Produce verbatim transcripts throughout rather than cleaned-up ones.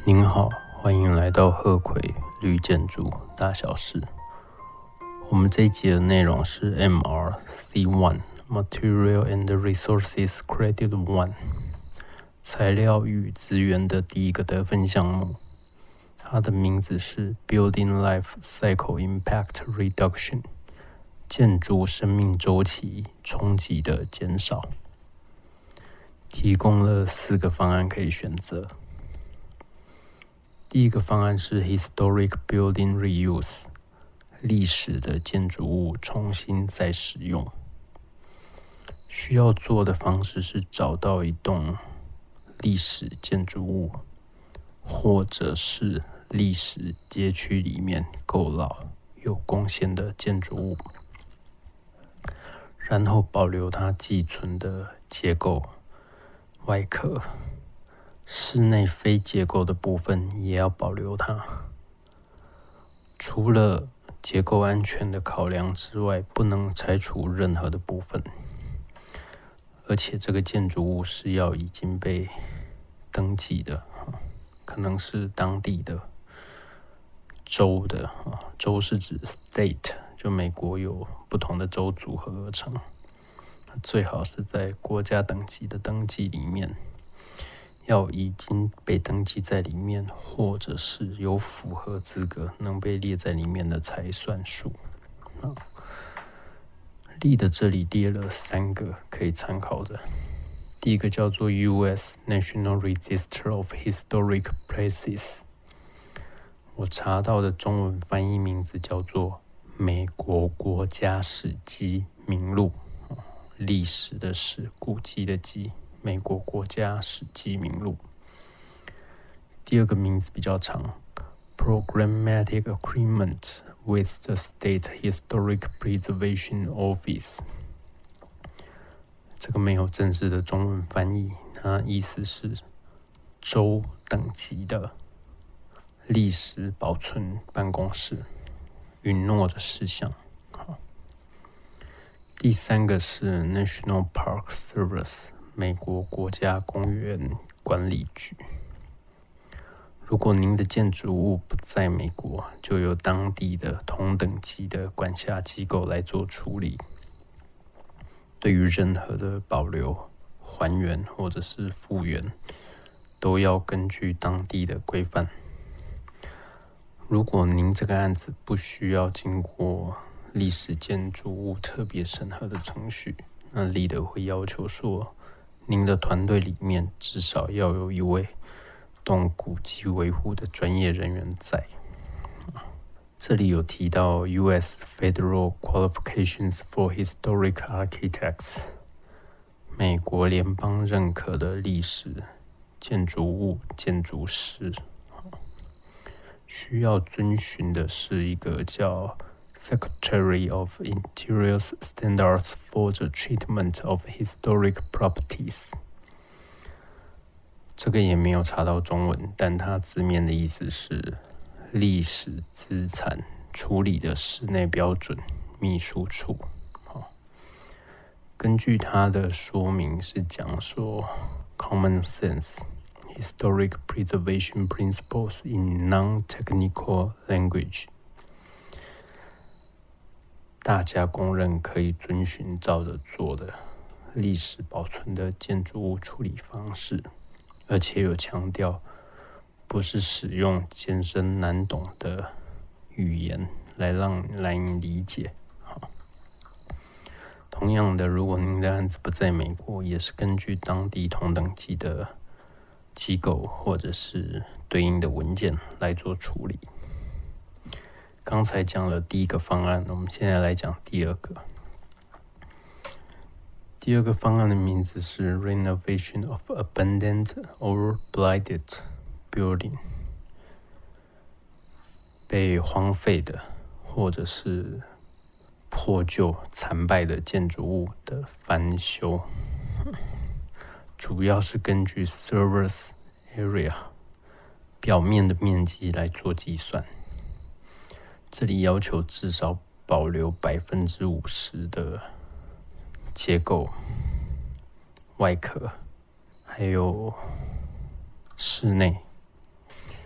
您好，欢迎来到鹤葵绿建筑大小事。我们这一集的内容是 M R C 一 Material and Resources Credit 一 材料与资源的第一个得分项目，它的名字是 Building Life Cycle Impact Reduction， 建筑生命周期冲击的减少。提供了四个方案可以选择。第一个方案是 Historic Building Reuse， 历史的建筑物重新再使用。需要做的方式是找到一栋历史建筑物，或者是历史街区里面够老有贡献的建筑物，然后保留它寄存的结构、外壳，室内非结构的部分也要保留它。除了结构安全的考量之外，不能拆除任何的部分。而且这个建筑物是要已经被登记的，可能是当地的州的，州是指 state， 就美国有不同的州组合而成。最好是在国家等级的登记里面，要已经被登记在里面，或者是有符合资格能被列在里面的才算数。例的这里列了三个可以参考的。第一个叫做 U S National Register of Historic Places， 我查到的中文翻译名字叫做美国国家史迹名录，历史的史，古迹的迹，美国国家史迹名录。第二个名字比较长 Programmatic Agreement with the State Historic Preservation Office， 这个没有正式的中文翻译，它意思是州等级的历史保存办公室允诺的事项。第三个是 National Park Service， 美国国家公园管理局。如果您的建筑物不在美国，就由当地的同等级的管辖机构来做处理。对于任何的保留、还原或者是复原，都要根据当地的规范。如果您这个案子不需要经过历史建筑物特别审核的程序，那立德会要求说，您的团队里面至少要有一位动古迹维护的专业人员在。这里有提到 U S Federal Qualifications for Historic Architects， 美国联邦认可的历史建筑物建筑师，需要遵循的是一个叫 Secretary of Interior's Standards for the Treatment of Historic Properties。这个也没有查到中文，但它字面的意思是历史资产处理的室内标准秘书处。根据它的说明是讲说 Common Sense Historic Preservation Principles in Non-Technical Language， 大家公认可以遵循照着做的历史保存的建筑物处理方式，而且有强调不是使用艰深难懂的语言来让难以理解。同样的，如果您的案子不在美国，也是根据当地同等级的机构或者是对应的文件来做处理。刚才讲了第一个方案，我们现在来讲第二个。第二个方案的名字是 Renovation of Abandoned or Blighted Building， 被荒废的或者是破旧残败的建筑物的翻修，主要是根据 Surface Area 表面的面积来做计算。这里要求至少保留 百分之五十 的结构、外壳，还有室内。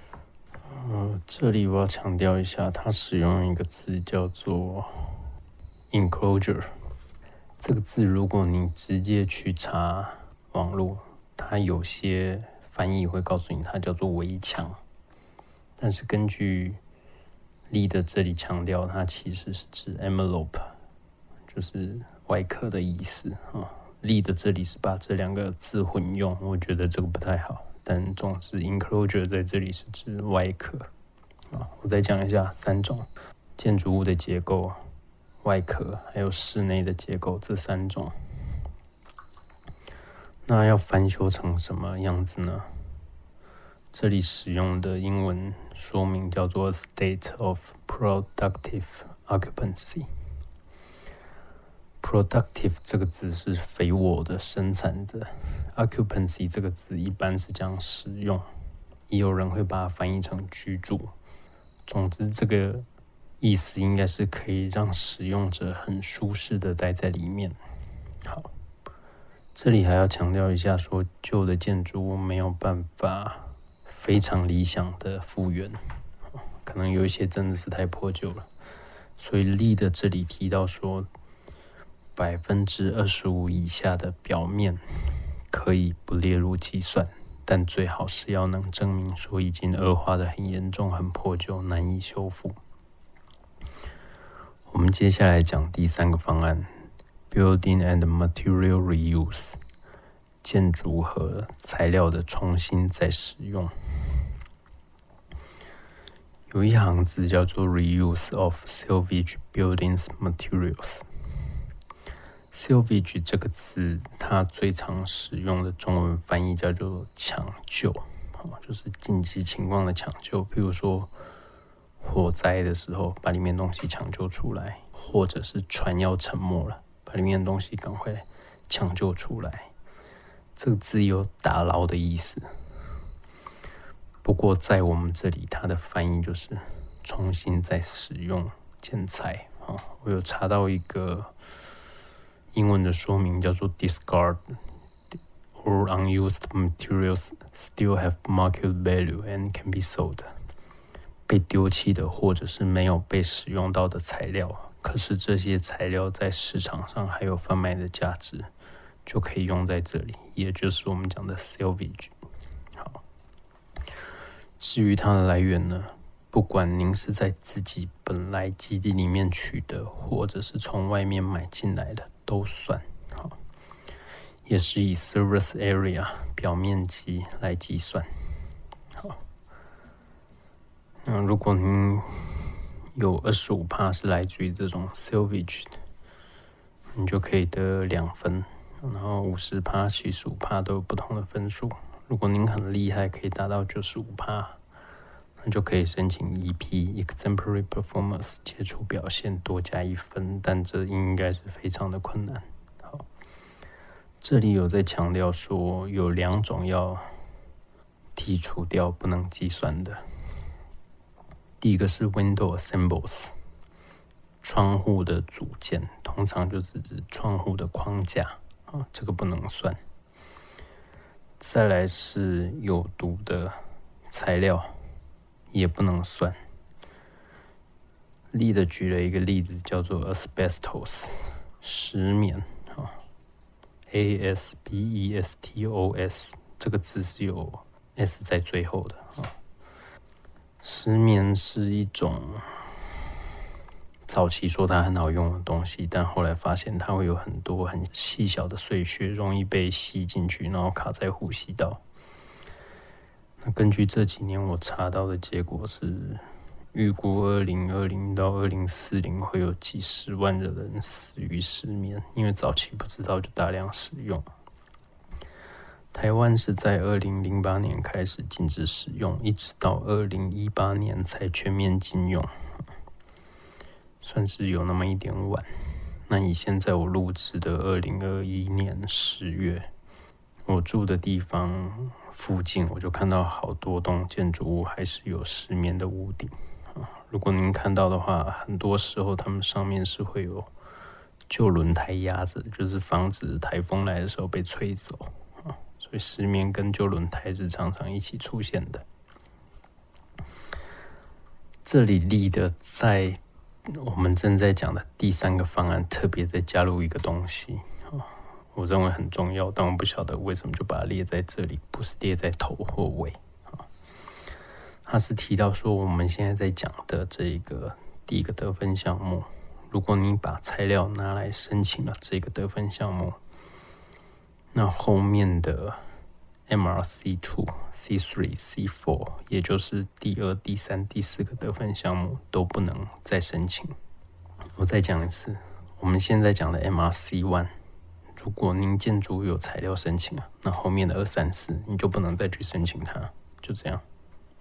嗯，这里我要强调一下，它使用一个字叫做 enclosure。这个字，如果你直接去查网络，它有些翻译会告诉你它叫做围墙，但是根据Lee的这里强调，它其实是指 envelope， 就是外壳的意思啊。Lee的这里是把这两个字混用，我觉得这个不太好。但总之 enclosure 在这里是指外壳啊。我再讲一下三种建筑物的结构。外壳还有室内的结构这三种，那要翻修成什么样子呢？这里使用的英文说明叫做 state of productive occupancy。productive 这个字是肥沃的、生产的 ，occupancy 这个字一般是讲使用，也有人会把它翻译成居住。总之，这个意思应该是可以让使用者很舒适的待在里面。好，这里还要强调一下说，旧的建筑物没有办法非常理想的复原，可能有一些真的是太破旧了。所以Lee的这里提到说，百分之二十五以下的表面可以不列入计算，但最好是要能证明说已经恶化的很严重、很破旧，难以修复。我们接下来讲第三个方案 ，Building and Material Reuse， 建筑和材料的重新再使用。有一行字叫做 Reuse of Salvage Buildings Materials。Salvage 这个字，它最常使用的中文翻译叫做抢救，就是紧急情况的抢救，譬如说火灾的时候，把里面东西抢救出来，或者是船要沉没了，把里面的东西赶快抢救出来。这个字有打捞的意思，不过在我们这里，它的翻译就是重新再使用建材。我有查到一个英文的说明，叫做 discard or unused materials still have market value and can be sold。被丢弃的或者是没有被使用到的材料，可是这些材料在市场上还有贩卖的价值，就可以用在这里，也就是我们讲的 salvage。 好，至于它的来源呢，不管您是在自己本来基地里面取得，或者是从外面买进来的，都算。好，也是以 surface area 表面积来计算。好，那如果您有 百分之二十五 是来自于这种 salvage 的，你就可以得两分，然后 百分之五十、百分之七十五 都有不同的分数。如果您很厉害，可以达到 百分之九十五， 那就可以申请 E P Exemplary Performance 杰出表现多加一分，但这应该是非常的困难。好，这里有在强调说有两种要剔除掉不能计算的。第一个是 window assembles， 窗户的组件，通常就是指窗户的框架，啊，这个不能算。再来是有毒的材料，也不能算。Lee的举了一个例子，叫做 asbestos， 石棉，啊 ，A S B E S T O S， 这个字是有 S 在最后的，啊。石棉是一种早期说它很好用的东西，但后来发现它会有很多很细小的碎屑，容易被吸进去，然后卡在呼吸道。那根据这几年我查到的结果是，预估二零二零到二零四零会有几十万的人死于石棉，因为早期不知道就大量使用。台湾是在二零零八年开始禁止使用，一直到二零一八年才全面禁用，算是有那么一点晚。那以现在我录制的二零二一年十月，我住的地方附近我就看到好多栋建筑物还是有石棉的屋顶。如果您看到的话，很多时候它们上面是会有旧轮胎压着，就是防止台风来的时候被吹走。所以石棉跟旧轮胎是常常一起出现的。 这里立的在我们正在讲的第三个方案特别再加入一个东西，我认为很重要，但我不晓得为什么就把它列在这里，不是列在头或尾。他是提到说，我们现在在讲的这一个第一个得分项目，如果你把材料拿来申请了这个得分项目，那后面的 M R C 二、C 三、C 四，也就是第二、第三、第四个得分项目都不能再申请。我再讲一次，我们现在讲的 M R C 一，如果您建筑有材料申请了，那后面的二、三、四你就不能再去申请它，就这样。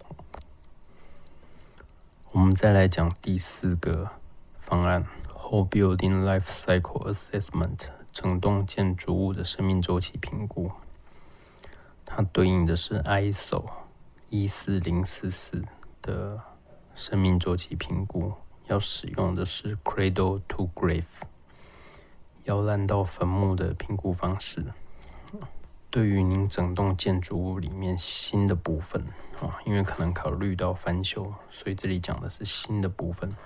我们再来讲第四个方案 Whole Building Life Cycle Assessment， 整栋建筑物的生命周期评估。它对应的是 I S O 一四零四四 的生命周期评估，要使用的是 Cradle to Grave 摇篮到坟墓的评估方式。对于您整栋建筑物里面新的部分，因为可能考虑到翻修，所以这里讲的是新的部分，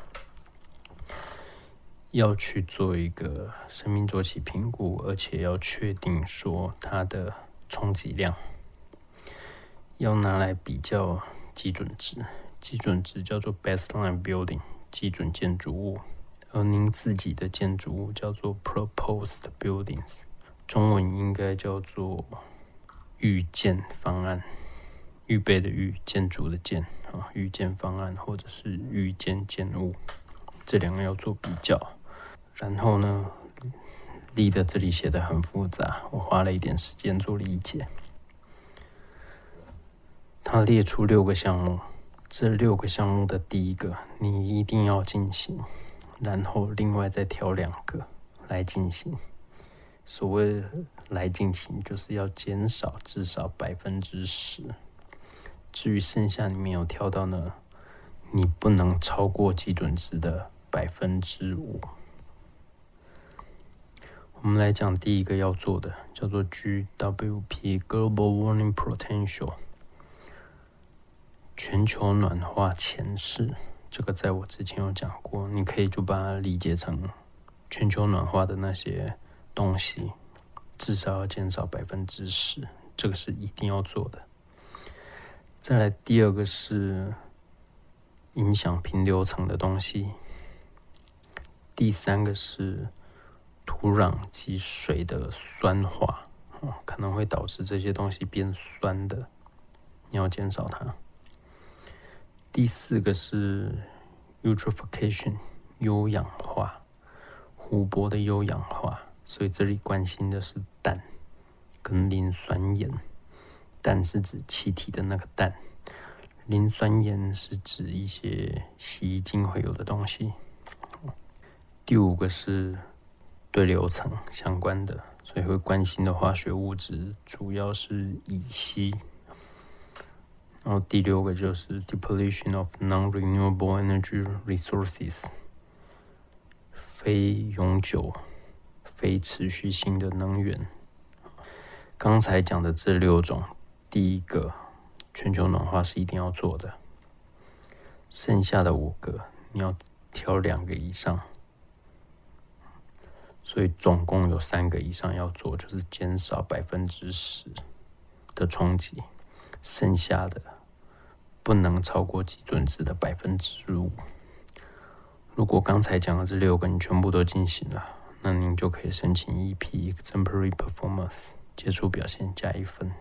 要去做一个生命周期评估，而且要确定说它的冲击量，要拿来比较基准值，基准值叫做 baseline building 基准建筑物，而您自己的建筑物叫做 proposed buildings， 中文应该叫做预建方案，预备的预，建筑的建，预建方案或者是预建建物，这两个要做比较。然后呢，立的这里写的很复杂，我花了一点时间做理解。他列出六个项目，这六个项目的第一个你一定要进行，然后另外再挑两个来进行。所谓来进行，就是要减少至少百分之十。至于剩下你没有挑到呢，你不能超过基准值的百分之五。我们来讲第一个要做的，叫做 G W P Global Warming Potential 全球暖化潜势。这个在我之前有讲过，你可以就把它理解成全球暖化的那些东西至少要减少百分之十，这个是一定要做的。再来第二个是影响平流层的东西，第三个是土壤及水的酸化，哦，可能会导致这些东西变酸的，你要减少它。第四个是 eutrophication 优氧化，湖泊的优氧化，所以这里关心的是氮跟磷酸盐。氮是指气体的那个氮，磷酸盐是指一些洗衣精会有的东西。第五个是对流层相关的，所以会关心的化学物质主要是乙烯。然后第六个就是 depletion of non-renewable energy resources 非永久、非持续性的能源。刚才讲的这六种，第一个全球暖化是一定要做的，剩下的五个你要挑两个以上，所以总共有三个以上要做，就是减少百分之十的冲击，剩下的不能超过基准值的百分之五。如果刚才讲的这六个你全部都进行了，那您就可以申请 E P Exemplary Performance 杰出表现加一分。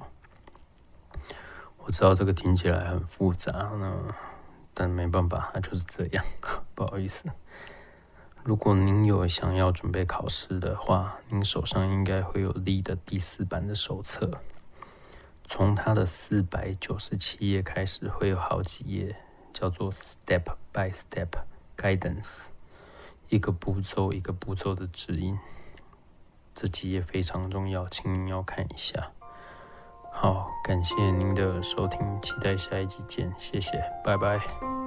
我知道这个听起来很复杂呢，但没办法，它就是这样，不好意思。如果您有想要准备考试的话，您手上应该会有 L E E 的第四版的手册，从它的四百九十七页开始，会有好几页叫做 Step by Step Guidance， 一个步骤一个步骤的指引。这几页非常重要，请您要看一下。好，感谢您的收听，期待下一集见，谢谢，拜拜。